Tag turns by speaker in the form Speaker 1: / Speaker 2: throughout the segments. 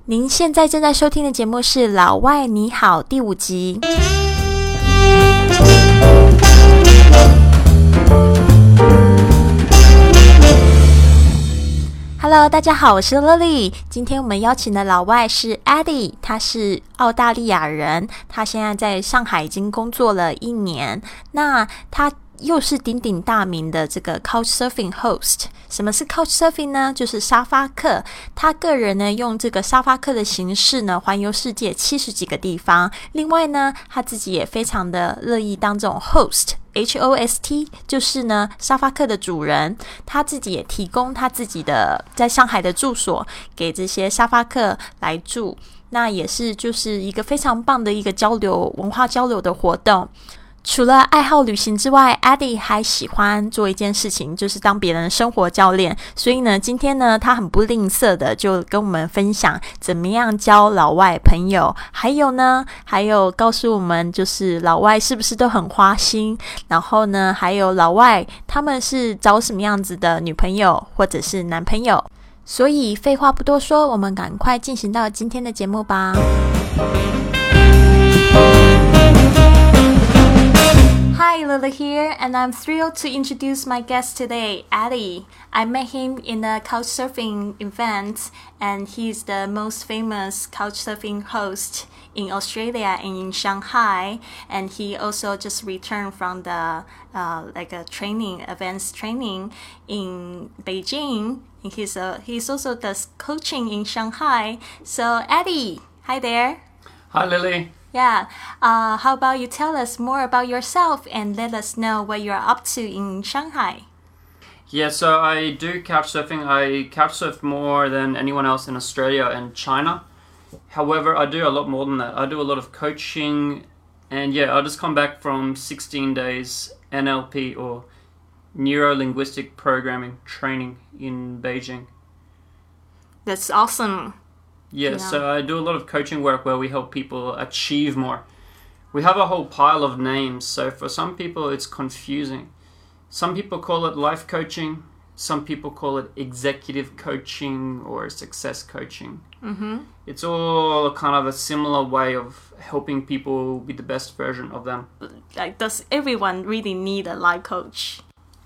Speaker 1: 您现在正在收听的节目是《老外你好》第5集。Hello， 大家好，我是 Lily。今天我们邀请的老外是 Eddie， 他是澳大利亚人，他现在在上海已经工作了1年。那他又是鼎鼎大名的这个 Couchsurfing host。什么是 Couchsurfing 呢？就是沙发客。他个人呢用这个沙发客的形式呢环游世界70几个地方。另外呢，他自己也非常的乐意当这种 host。HOST 就是呢沙发客的主人，他自己也提供他自己的在上海的住所给这些沙发客来住，那也是就是一个非常棒的一个交流文化交流的活动。除了爱好旅行之外， Eddie 还喜欢做一件事情，就是当别人的生活教练。所以呢，今天呢，他很不吝啬的就跟我们分享怎么样交老外朋友，还有告诉我们就是老外是不是都很花心，然后呢，还有老外他们是找什么样子的女朋友或者是男朋友。所以废话不多说，我们赶快进行到今天的节目吧。Hi, Lila here, and I'm thrilled to introduce my guest today, Eddie. I met him in a couchsurfing event, and he's the most famous couchsurfing host in Australia and in Shanghai. And he also just returned from the events training in Beijing. And he's also does coaching in Shanghai. So Eddie, hi there.
Speaker 2: Hi, Lily.
Speaker 1: Yeah. How about you tell us more about yourself and let us know what you're up to in Shanghai?
Speaker 2: Yeah, so I do couchsurfing. I couchsurf more than anyone else in Australia and China. However, I do a lot more than that. I do a lot of coaching, and yeah, I just come back from 16 days NLP or Neuro-Linguistic Programming training in Beijing.
Speaker 1: That's awesome.
Speaker 2: Yeah, so I do a lot of coaching work where we help people achieve more. We have a whole pile of names, so for some people it's confusing. Some people call it life coaching, some people call it executive coaching or success coaching. Mm-hmm. It's all kind of a similar way of helping people be the best version of them.
Speaker 1: Like, does everyone really need a life coach?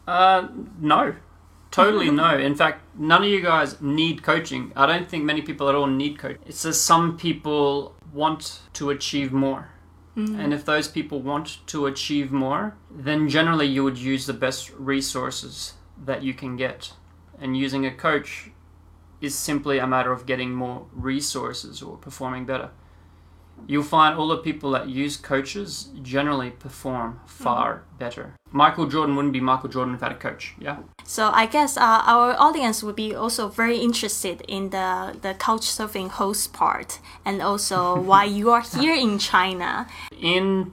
Speaker 2: No. Totally no. In fact, none of you guys need coaching. I don't think many people at all need coaching. It's just some people want to achieve more. Mm-hmm. And if those people want to achieve more, then generally you would use the best resources that you can get. And using a coach is simply a matter of getting more resources or performing better. You'll find all the people that use coaches generally perform far better. Michael Jordan wouldn't be Michael Jordan without a coach, yeah?
Speaker 1: So I guess our audience would be also very interested in the couchsurfing host part and also why you are here in China.
Speaker 2: In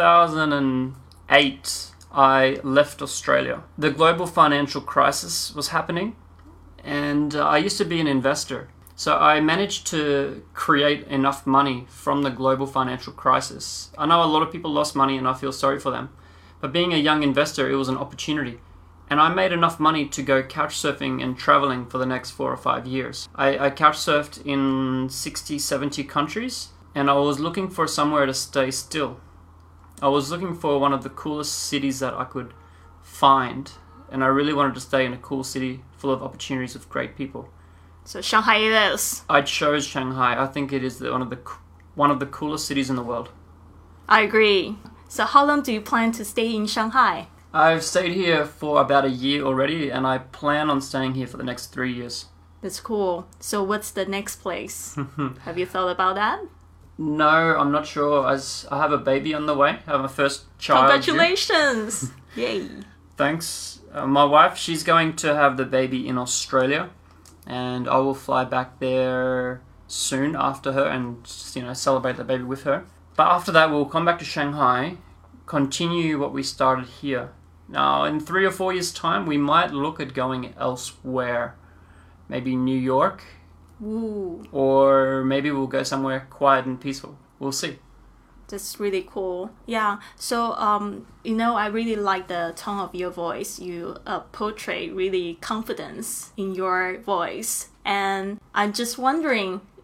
Speaker 2: 2008, I left Australia. The global financial crisis was happening, and I used to be an investor. So I managed to create enough money from the global financial crisis. I know a lot of people lost money and I feel sorry for them. But being a young investor, it was an opportunity. And I made enough money to go couch surfing and traveling for the next 4 or 5 years. I couch surfed in 60, 70 countries, and I was looking for somewhere to stay still. I was looking for one of the coolest cities that I could find. And I really wanted to stay in a cool city full of opportunities with great people.
Speaker 1: So Shanghai it is.
Speaker 2: I chose Shanghai. I think it is one of the coolest cities in the world.
Speaker 1: I agree. So how long do you plan to stay in Shanghai?
Speaker 2: I've stayed here for about a year already, and I plan on staying here for the next 3 years.
Speaker 1: That's cool. So what's the next place? Have you thought about that?
Speaker 2: No, I'm not sure. As I have a baby on the way. I have my first child.
Speaker 1: Congratulations! Yay!
Speaker 2: Thanks. My wife, she's going to have the baby in Australia. And I will fly back there soon after her and celebrate the baby with her. But after that, we'll come back to Shanghai, continue what we started here. Now, in 3 or 4 years' time, we might look at going elsewhere. Maybe New York.
Speaker 1: Ooh.
Speaker 2: Or maybe we'll go somewhere quiet and peaceful. We'll see.
Speaker 1: That's really cool. Yeah. So, I really like the tone of your voice. You portray really confidence in your voice. And I'm just wondering,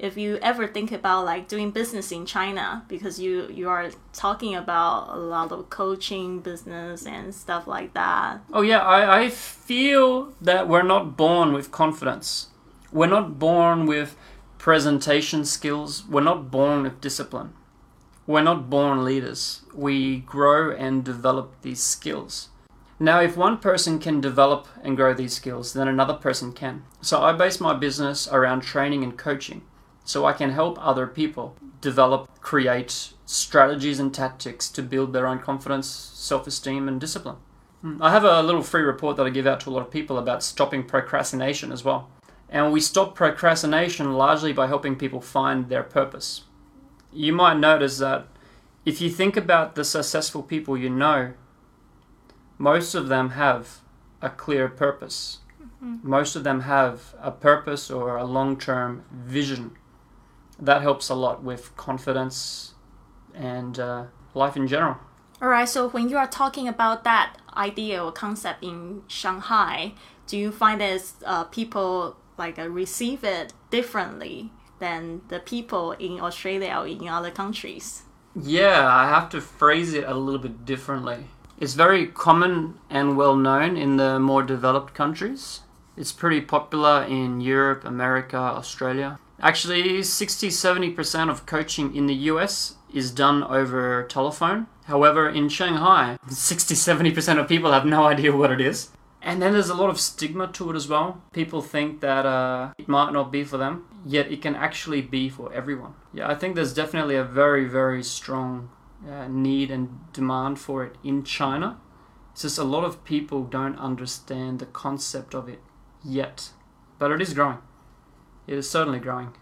Speaker 1: if you ever think about like doing business in China, because you are talking about a lot of coaching business and stuff like that.
Speaker 2: Oh yeah, I feel that we're not born with confidence. We're not born with presentation skills. We're not born with discipline. We're not born leaders. We grow and develop these skills. Now, if one person can develop and grow these skills, then another person can. So I base my business around training and coaching, so I can help other people develop, create strategies and tactics to build their own confidence, self-esteem, and discipline. I have a little free report that I give out to a lot of people about stopping procrastination as well. And we stop procrastination largely by helping people find their purpose. You might notice that if you think about the successful people you know, most of them have a clear purpose. Most of them have a purpose or a long-term vision. That helps a lot with confidence and life in general.
Speaker 1: All right, so when you are talking about that idea or concept in Shanghai, do you find that people receive it differently than the people in Australia or in other countries?
Speaker 2: Yeah, I have to phrase it a little bit differently. It's very common and well known in the more developed countries. It's pretty popular in Europe, America, Australia. Actually, 60-70% of coaching in the US is done over telephone. However, in Shanghai, 60-70% of people have no idea what it is. And then there's a lot of stigma to it as well. People think that it might not be for them, yet it can actually be for everyone. Yeah, I think there's definitely a very, very strong need and demand for it in China. It's just a lot of people don't understand the concept of it yet. But it is growing. It is certainly growing.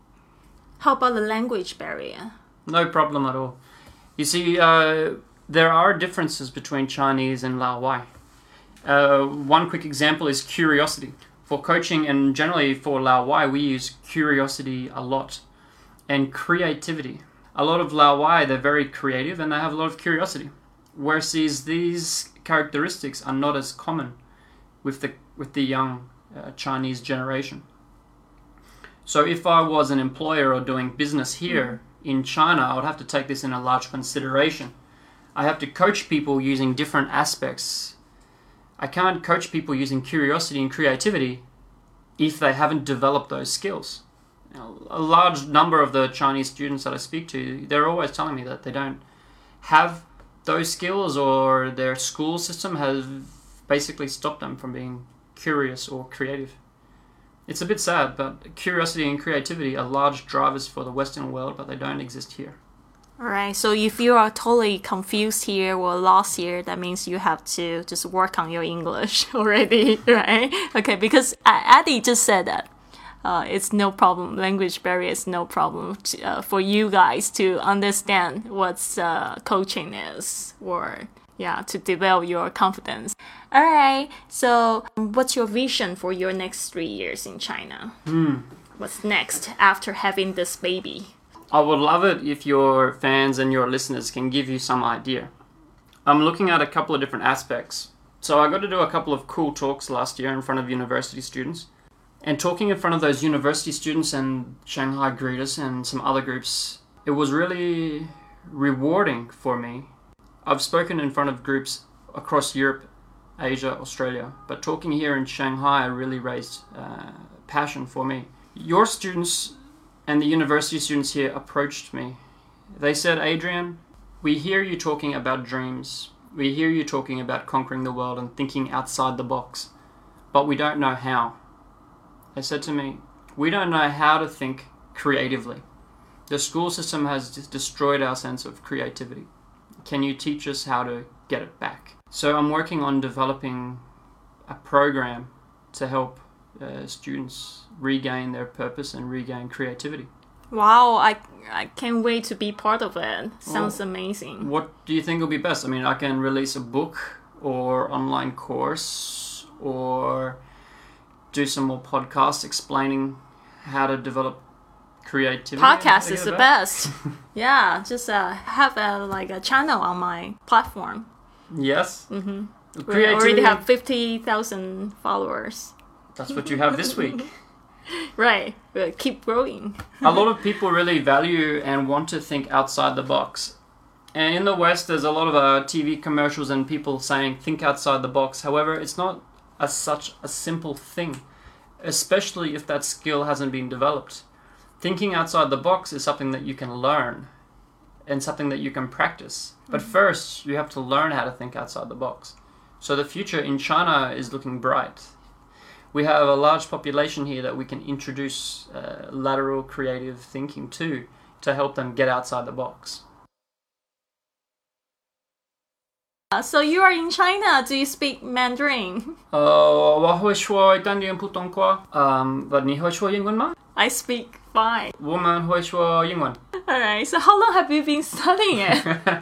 Speaker 1: How about the language barrier?
Speaker 2: No problem at all. You see, there are differences between Chinese and Laowai. One quick example is curiosity. For coaching and generally for Laowai, we use curiosity a lot. And creativity. A lot of Laowai, they're very creative and they have a lot of curiosity. Whereas these characteristics are not as common with the young Chinese generation. So if I was an employer or doing business here in China, I would have to take this in a large consideration. I have to coach people using different aspects. I can't coach people using curiosity and creativity if they haven't developed those skills. Now, a large number of the Chinese students that I speak to, they're always telling me that they don't have those skills, or their school system has basically stopped them from being curious or creative. It's a bit sad, but curiosity and creativity are large drivers for the Western world, but they don't exist here.
Speaker 1: All right, so if you are totally confused here or lost here, that means you have to just work on your English already, right? Okay, because Addie just said that it's no problem. Language barrier is no problem for you guys to understand what coaching is, or to develop your confidence. All right, so what's your vision for your next 3 years in China? What's next after having this baby?
Speaker 2: I would love it if your fans and your listeners can give you some idea. I'm looking at a couple of different aspects. So I got to do a couple of cool talks last year in front of university students. And talking in front of those university students and Shanghai greeters and some other groups, it was really rewarding for me. I've spoken in front of groups across Europe, Asia, Australia, but talking here in Shanghai really raised passion for me. Your students and the university students here approached me. They said, Adrian, we hear you talking about dreams. We hear you talking about conquering the world and thinking outside the box, but we don't know how. They said to me, we don't know how to think creatively. The school system has destroyed our sense of creativity. Can you teach us how to get it back? So I'm working on developing a program to help students regain their purpose and regain creativity.
Speaker 1: Wow, I can't wait to be part of it. Sounds amazing.
Speaker 2: What do you think will be best? I mean, I can release a book or online course, or do some more podcasts explaining how to develop creativity.
Speaker 1: Podcast is the best. Yeah, just have a channel on my platform.
Speaker 2: Yes.
Speaker 1: Mm-hmm. We already have 50,000 followers.
Speaker 2: That's what you have this week.
Speaker 1: Right. We'll keep growing.
Speaker 2: A lot of people really value and want to think outside the box. And in the West, there's a lot of TV commercials and people saying, think outside the box. However, it's not such a simple thing, especially if that skill hasn't been developed. Thinking outside the box is something that you can learn and something that you can practice. But first, you have to learn how to think outside the box. So the future in China is looking bright. We have a large population here that we can introduce lateral creative thinking to help them get outside the box.
Speaker 1: So you are in China. Do you speak Mandarin?
Speaker 2: 我会说一点点普通话。你会说英文吗？
Speaker 1: I speak fine.
Speaker 2: 我们会说英文。
Speaker 1: Alright, so how long have you been studying it?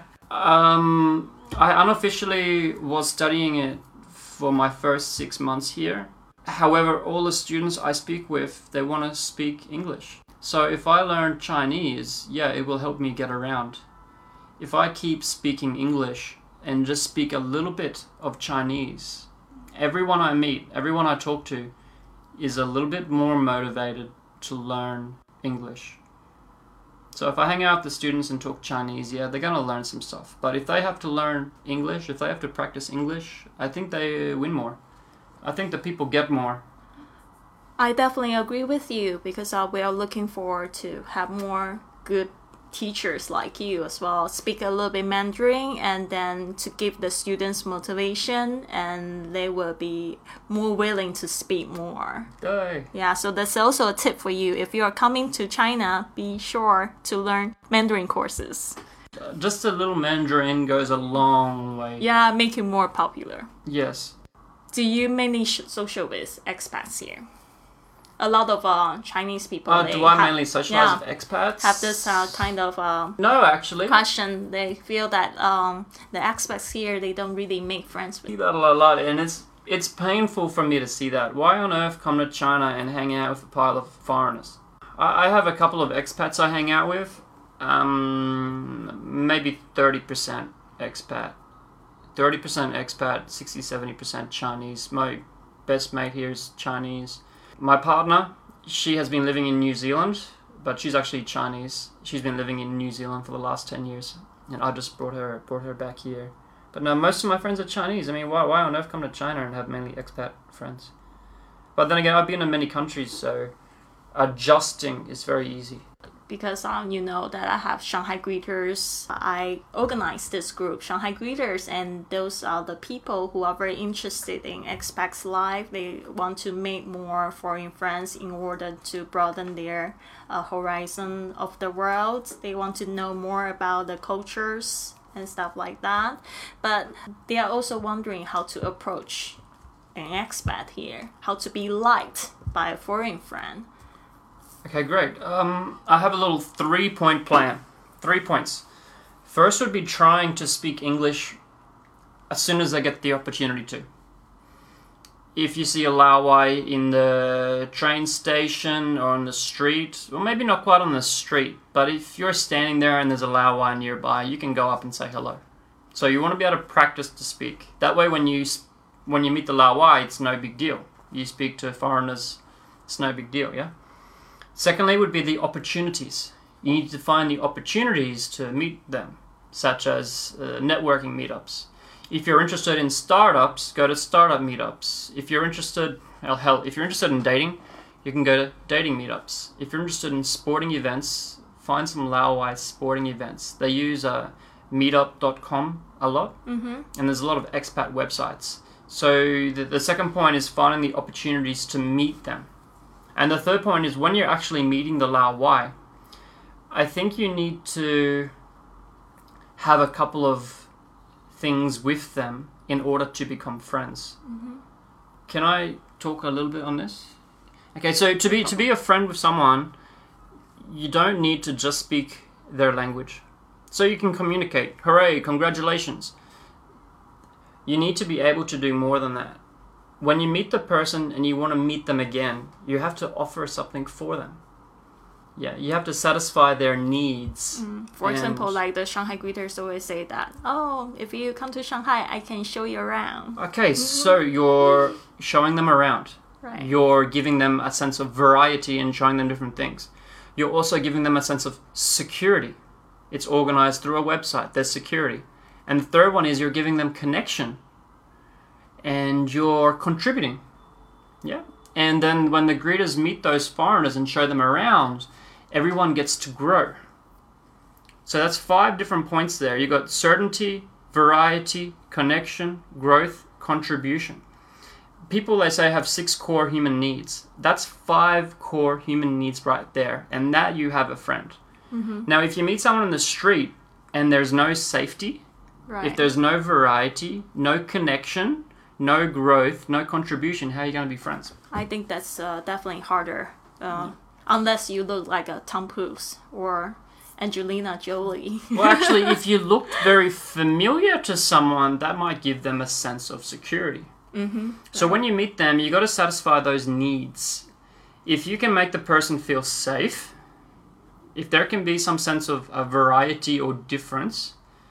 Speaker 2: I unofficially was studying it for my first 6 months here. However, all the students I speak with, they want to speak English. So if I learn Chinese, yeah, it will help me get around. If I keep speaking English and just speak a little bit of Chinese, everyone I meet, everyone I talk to is a little bit more motivated to learn English. So if I hang out with the students and talk Chinese, yeah, they're going to learn some stuff. But if they have to learn English, if they have to practice English, I think they win more. I think the people get more.
Speaker 1: I definitely agree with you because we are looking forward to have more good teachers like you as well. Speak a little bit Mandarin and then to give the students motivation and they will be more willing to speak more. Yeah, so that's also a tip for you. If you are coming to China, be sure to learn Mandarin courses.
Speaker 2: Just a little Mandarin goes a long way.
Speaker 1: Yeah, make you more popular.
Speaker 2: Yes.
Speaker 1: Do you mainly social with expats here? A lot of Chinese people.
Speaker 2: Do I mainly socialize with expats?
Speaker 1: Have this kind of
Speaker 2: no, actually.
Speaker 1: question. They feel that the expats here, they don't really make friends with.
Speaker 2: I see that a lot, and it's painful for me to see that. Why on earth come to China and hang out with a pile of foreigners? I have a couple of expats I hang out with. Maybe 30% expat. 30% expat, 60-70% Chinese. My best mate here is Chinese. My partner, she has been living in New Zealand, but she's actually Chinese. She's been living in New Zealand for the last 10 years, and I just brought her back here. But no, most of my friends are Chinese. I mean, why on earth come to China and have mainly expat friends? But then again, I've been in many countries, so adjusting is very easy.
Speaker 1: Because you know that I have Shanghai Greeters. I organized this group, Shanghai Greeters, and those are the people who are very interested in expats life. They want to make more foreign friends in order to broaden their horizon of the world. They want to know more about the cultures and stuff like that. But they are also wondering how to approach an expat here, how to be liked by a foreign friend.
Speaker 2: Okay, great. I have a little 3-point plan. 3 points. First would be trying to speak English as soon as I get the opportunity to. If you see a Laowai in the train station or on the street, or maybe not quite on the street, but if you're standing there and there's a Laowai nearby, you can go up and say hello. So you want to be able to practice to speak. That way when you meet the Laowai, it's no big deal. You speak to foreigners, it's no big deal, yeah? Secondly would be the opportunities. You need to find the opportunities to meet them, such as networking meetups. If you're interested in startups, go to startup meetups. If you're interested, if you're interested in dating, you can go to dating meetups. If you're interested in sporting events, find some Laowai sporting events. They use meetup.com a lot, and there's a lot of expat websites. So the second point is finding the opportunities to meet them. And the third point is when you're actually meeting the Laowai, I think you need to have a couple of things with them in order to become friends. Can I talk a little bit on this? Okay, so to be a friend with someone, you don't need to just speak their language. So you can communicate. Hooray, congratulations. You need to be able to do more than that. When you meet the person and you want to meet them again, you have to offer something for them. Yeah, you have to satisfy their needs.
Speaker 1: For example, like the Shanghai Greeters always say that, oh, if you come to Shanghai, I can show you around.
Speaker 2: Okay, so you're showing them around.
Speaker 1: Right.
Speaker 2: You're giving them a sense of variety and showing them different things. You're also giving them a sense of security. It's organized through a website. There's security. And the third one is you're giving them connection. And you're contributing. Yeah. And then when the greeters meet those foreigners and show them around, everyone gets to grow. So that's 5 different points there. You've got certainty, variety, connection, growth, contribution. People, they say, have 6 core human needs. That's 5 core human needs right there. And that you have a friend. Mm-hmm. Now, if you meet someone in the street and there's no safety,
Speaker 1: Right.
Speaker 2: if there's no variety, no connection, no growth, no contribution, how are you going to be friends?
Speaker 1: I think that's definitely harder. Unless you look like a Tom Cruise or Angelina Jolie.
Speaker 2: Well, actually, if you looked very familiar to someone, that might give them a sense of security.
Speaker 1: Mm-hmm.
Speaker 2: So when you meet them, you got to satisfy those needs. If you can make the person feel safe, if there can be some sense of a variety or difference,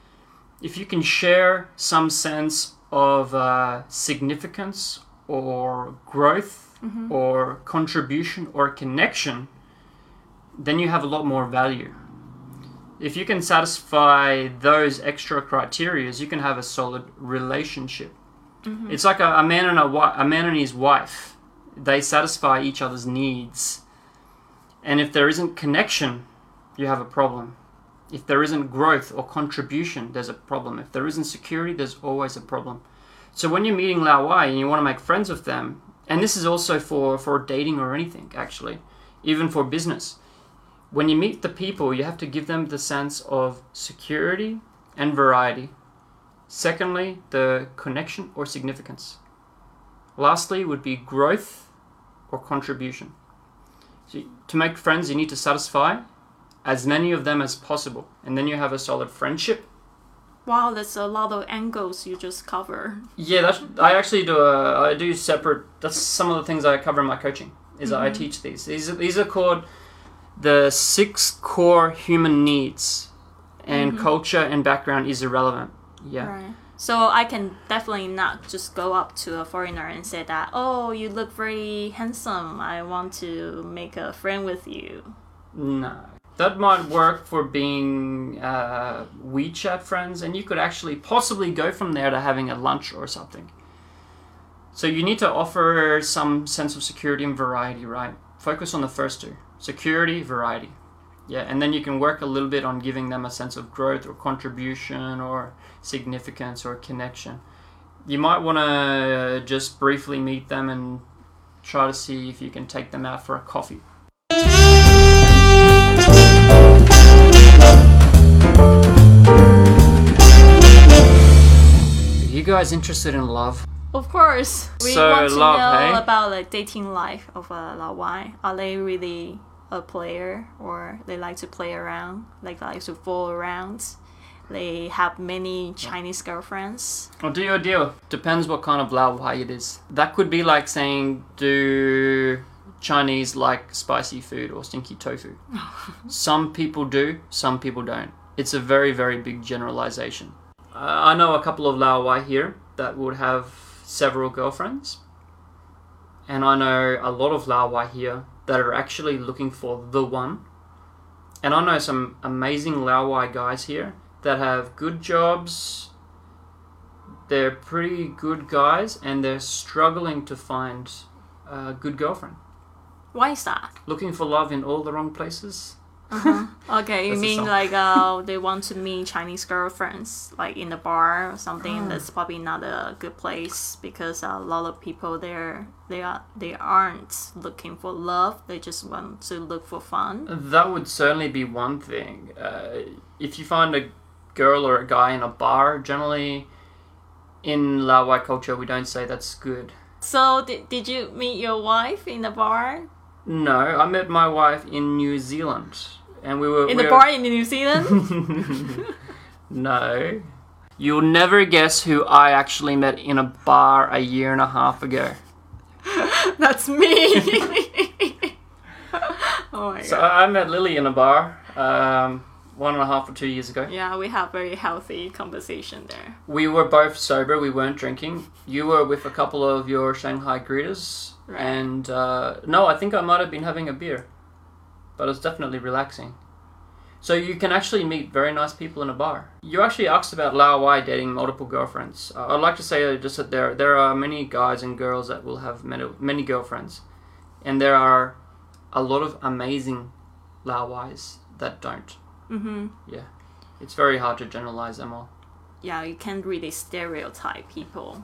Speaker 2: if you can share some sense of significance or growth or contribution or connection, then you have a lot more value. If you can satisfy those extra criteria, you can have a solid relationship. Mm-hmm. It's like a man and his wife. They satisfy each other's needs. And if there isn't connection, you have a problem. If there isn't growth or contribution, there's a problem. If there isn't security, there's always a problem. So when you're meeting Lao Wai and you want to make friends with them, and this is also for dating or anything, actually, even for business, when you meet the people, you have to give them the sense of security and variety. Secondly, the connection or significance. Lastly, would be growth or contribution. So to make friends, you need to satisfy as many of them as possible, and then you have a solid friendship.
Speaker 1: Wow, that's a lot of angles you just cover.
Speaker 2: Yeah, I actually do separate. That's some of the things I cover in my coaching. I teach these. These are called the 6 core human needs, and culture and background is irrelevant. Yeah.
Speaker 1: Right. So I can definitely not just go up to a foreigner and say that, oh, you look very handsome. I want to make a friend with you.
Speaker 2: No. That might work for being WeChat friends, and you could actually possibly go from there to having a lunch or something. So you need to offer some sense of security and variety, right? Focus on the first 2. Security, variety. Yeah, and then you can work a little bit on giving them a sense of growth or contribution or significance or connection. You might want to just briefly meet them and try to see if you can take them out for a coffee. Are you guys interested in love?
Speaker 1: Of course. We want to know about the dating life of Lao Wai. Are they really a player, or they like to play around, like to fool around? They have many Chinese girlfriends.
Speaker 2: Well, do your deal. Depends what kind of Lao Wai it is. That could be like saying, do Chinese like spicy food or stinky tofu? Some people do, some people don't. It's a very, very big generalization. I know a couple of Lao Wai here that would have several girlfriends. And I know a lot of Lao Wai here that are actually looking for the one. And I know some amazing Lao Wai guys here that have good jobs. They're pretty good guys, and they're struggling to find a good girlfriend.
Speaker 1: Why is that?
Speaker 2: Looking for love in all the wrong places.
Speaker 1: Okay, you mean like they want to meet Chinese girlfriends like in the bar or something? That's probably not a good place, because a lot of people there they aren't looking for love. They just want to look for fun.
Speaker 2: That would certainly be one thing. If you find a girl or a guy in a bar, generally in Lao Wai culture we don't say that's good.
Speaker 1: So did you meet your wife in the bar?
Speaker 2: No, I met my wife in New Zealand, and we were
Speaker 1: in the bar in New Zealand.
Speaker 2: No, you'll never guess who I actually met in a bar a year and a half ago.
Speaker 1: That's me. Oh my god!
Speaker 2: So I met Lily in a bar 1.5 or 2 years ago.
Speaker 1: Yeah, we have very healthy conversation there.
Speaker 2: We were both sober. We weren't drinking. You were with a couple of your Shanghai greeters.
Speaker 1: Right.
Speaker 2: And no, I think I might have been having a beer, but it's definitely relaxing. So you can actually meet very nice people in a bar. You actually asked about Lao Wai dating multiple girlfriends. I'd like to say just that there are many guys and girls that will have many girlfriends, and there are a lot of amazing Lao Wais that don't.
Speaker 1: Mm-hmm.
Speaker 2: Yeah, it's very hard to generalize them all.
Speaker 1: Yeah, you can't really stereotype people.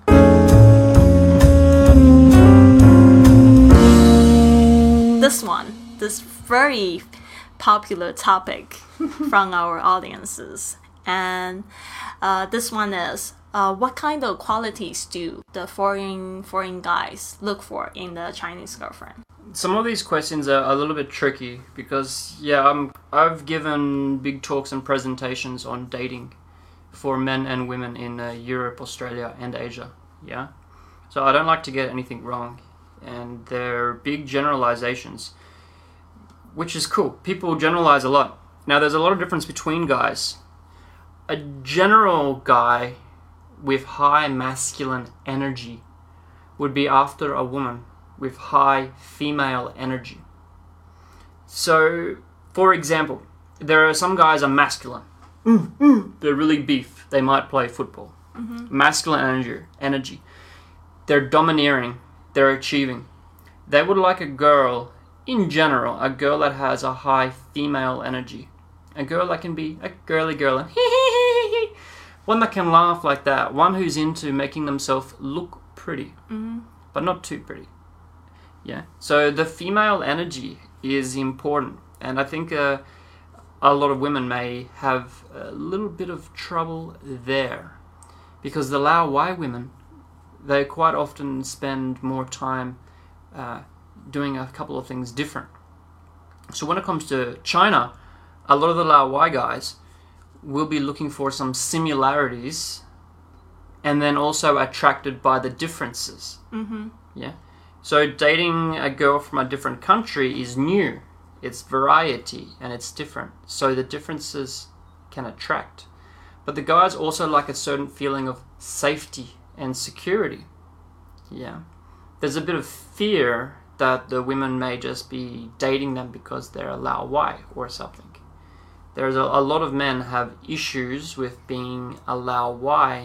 Speaker 1: This very popular topic from our audiences, and this one is what kind of qualities do the foreign guys look for in the Chinese girlfriend?
Speaker 2: Some of these questions are a little bit tricky because I've given big talks and presentations on dating for men and women in Europe, Australia, and Asia. Yeah, so I don't like to get anything wrong, and they're big generalizations, which is cool. People generalize a lot. Now, there's a lot of difference between guys. A general guy with high masculine energy would be after a woman with high female energy. So, for example, there are some guys are masculine. They're really beef. They might play football.
Speaker 1: Mm-hmm.
Speaker 2: Masculine energy. They're domineering. They're achieving. They would like a girl, in general, a girl that has a high female energy. A girl that can be a girly girl and one that can laugh like that. One who's into making themselves look pretty, but not too pretty. Yeah. So the female energy is important, and I think a lot of women may have a little bit of trouble there, because the Lao Wai women, they quite often spend more time doing a couple of things different. So when it comes to China, a lot of the Lao Wai guys will be looking for some similarities and then also attracted by the differences.
Speaker 1: Mm-hmm.
Speaker 2: Yeah. So dating a girl from a different country is new. It's variety and it's different. So the differences can attract. But the guys also like a certain feeling of safety and security. Yeah. There's a bit of fear that the women may just be dating them because they're a Lao Wai or something. There's a lot of men have issues with being a Lao Wai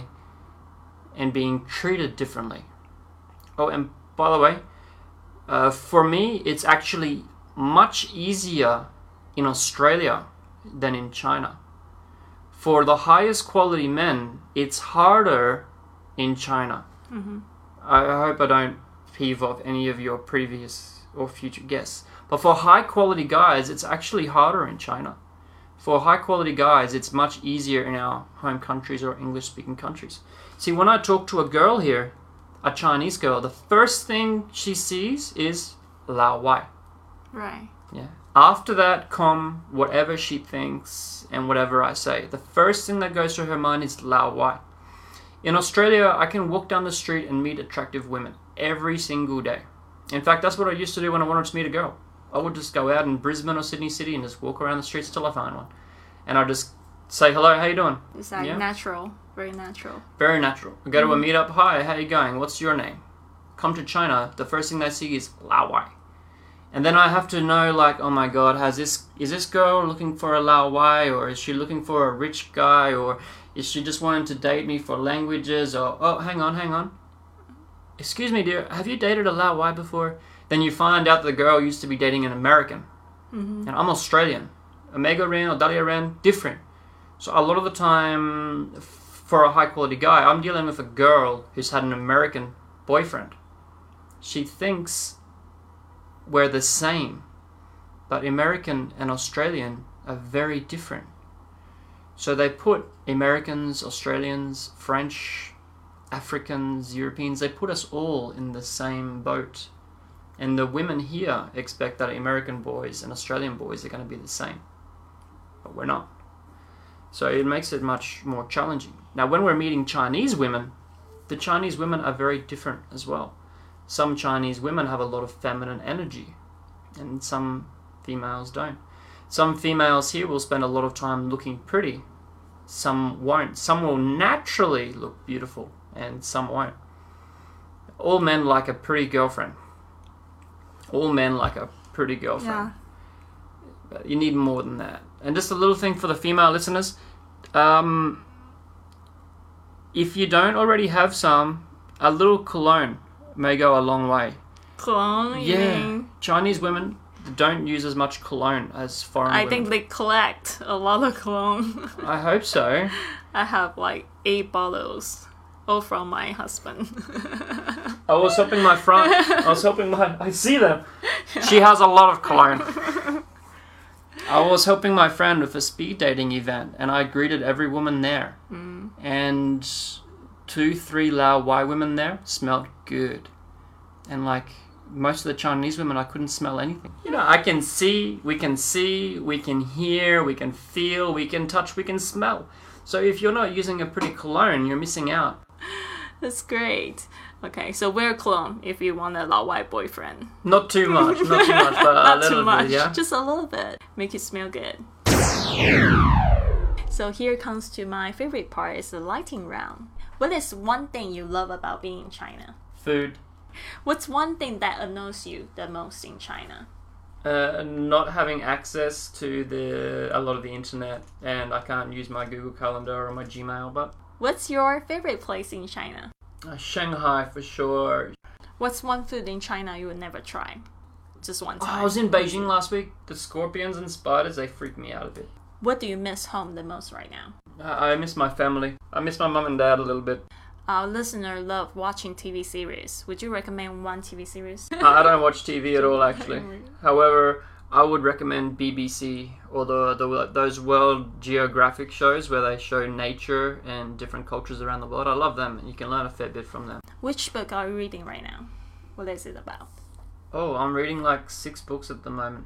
Speaker 2: and being treated differently. Oh, and by the way, for me, it's actually much easier in Australia than in China. For the highest quality men, it's harder in China.
Speaker 1: Mm-hmm.
Speaker 2: I hope I don't peeve off any of your previous or future guests. But for high quality guys, it's actually harder in China. For high quality guys, it's much easier in our home countries or English speaking countries. See, when I talk to a girl here, a Chinese girl, the first thing she sees is Lao Wai.
Speaker 1: Right.
Speaker 2: Yeah. After that come whatever she thinks and whatever I say. The first thing that goes through her mind is Lao Wai. In Australia, I can walk down the street and meet attractive women every single day. In fact, that's what I used to do when I wanted to meet a girl. I would just go out in Brisbane or Sydney City and just walk around the streets till I find one. And I'd just say, hello, how you doing?
Speaker 1: It's like natural, very natural.
Speaker 2: Very natural. I go to a meetup, hi, how you going? What's your name? Come to China, the first thing they see is Lao Wai. And then I have to know, like, oh my god, is this girl looking for a Lao Wai, or is she looking for a rich guy, or is she just wanting to date me for languages, or, oh, hang on. Excuse me, dear, have you dated a Lao Wai before? Then you find out the girl used to be dating an American.
Speaker 1: Mm-hmm.
Speaker 2: And I'm Australian. Omega Ren or Dahlia Ren, different. So a lot of the time, for a high quality guy, I'm dealing with a girl who's had an American boyfriend. She thinks we're the same, but American and Australian are very different. So they put Americans, Australians, French, Africans, Europeans, they put us all in the same boat. And the women here expect that American boys and Australian boys are going to be the same. But we're not. So it makes it much more challenging. Now, when we're meeting Chinese women, the Chinese women are very different as well. Some Chinese women have a lot of feminine energy, and some females don't. Some females here will spend a lot of time looking pretty. Some won't. Some will naturally look beautiful, and some won't. All men like a pretty girlfriend. All men like a pretty girlfriend.
Speaker 1: Yeah.
Speaker 2: But you need more than that. And just a little thing for the female listeners. If you don't already have some, a little cologne may go a long way.
Speaker 1: Cologne? You mean?
Speaker 2: Chinese women don't use as much cologne as foreign women.
Speaker 1: I think they collect a lot of cologne.
Speaker 2: I hope so.
Speaker 1: I have like 8 bottles, all from my husband.
Speaker 2: I was helping my friend. I see them. She has a lot of cologne. I was helping my friend with a speed dating event, and I greeted every woman there. And 2-3 Lao Wai women there smelled good. And like most of the Chinese women, I couldn't smell anything. You know, we can see, we can hear, we can feel, we can touch, we can smell. So if you're not using a pretty cologne, you're missing out.
Speaker 1: That's great. Okay, so wear cologne if you want a Lao Wai boyfriend.
Speaker 2: Not too much, but
Speaker 1: Not
Speaker 2: a little
Speaker 1: too much,
Speaker 2: bit, yeah?
Speaker 1: just a little bit. Make it smell good. So here comes to my favorite part, is the lighting round. What is one thing you love about being in China?
Speaker 2: Food.
Speaker 1: What's one thing that annoys you the most in China?
Speaker 2: Not having access to a lot of the internet, and I can't use my Google Calendar or my Gmail, but...
Speaker 1: What's your favorite place in China?
Speaker 2: Shanghai for sure.
Speaker 1: What's one food in China you would never try? Just one time.
Speaker 2: I was in Beijing last week. The scorpions and spiders, they freak me out a bit.
Speaker 1: What do you miss home the most right now?
Speaker 2: I miss my family. I miss my mum and dad a little bit.
Speaker 1: Our listener love watching TV series. Would you recommend one TV series?
Speaker 2: I don't watch TV at all, actually. However, I would recommend BBC or those World Geographic shows where they show nature and different cultures around the world. I love them. You can learn a fair bit from them.
Speaker 1: Which book are you reading right now? What is it about?
Speaker 2: Oh, I'm reading like 6 books at the moment.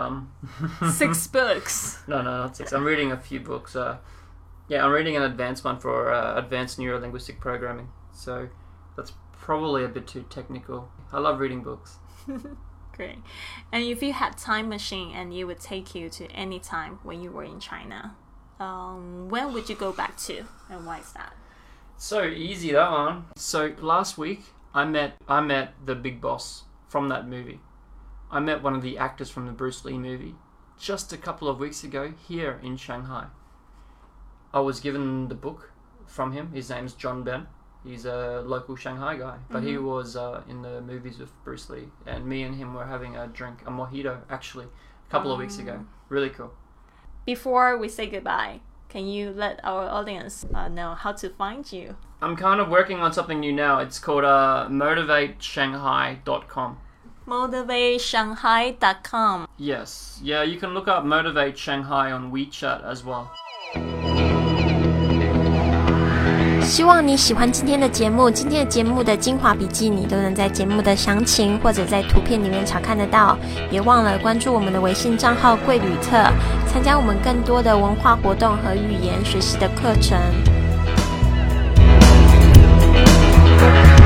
Speaker 1: 6 books?
Speaker 2: No, not 6. I'm reading a few books. I'm reading an advanced one for advanced neuro-linguistic programming. So that's probably a bit too technical. I love reading books.
Speaker 1: Great. And if you had time machine and it would take you to any time when you were in China, when would you go back to, and why is that?
Speaker 2: So easy, that one. So last week I met the big boss from that movie. I met one of the actors from the Bruce Lee movie just a couple of weeks ago here in Shanghai. I was given the book from him. His name's John Ben. He's a local Shanghai guy, but he was in the movies with Bruce Lee, and me and him were having a drink, a mojito, actually, a couple of weeks ago. Really cool.
Speaker 1: Before we say goodbye, can you let our audience know how to find you?
Speaker 2: I'm kind of working on something new now. It's called motivateshanghai.com.
Speaker 1: motivateshanghai.com.
Speaker 2: Yes. Yeah, you can look up Motivate Shanghai on WeChat as well.
Speaker 1: 希望你喜欢今天的节目。今天的节目的精华笔记你都能在节目的详情或者在图片里面查看得到。别忘了关注我们的微信账号贵旅特，参加我们更多的文化活动和语言学习的课程。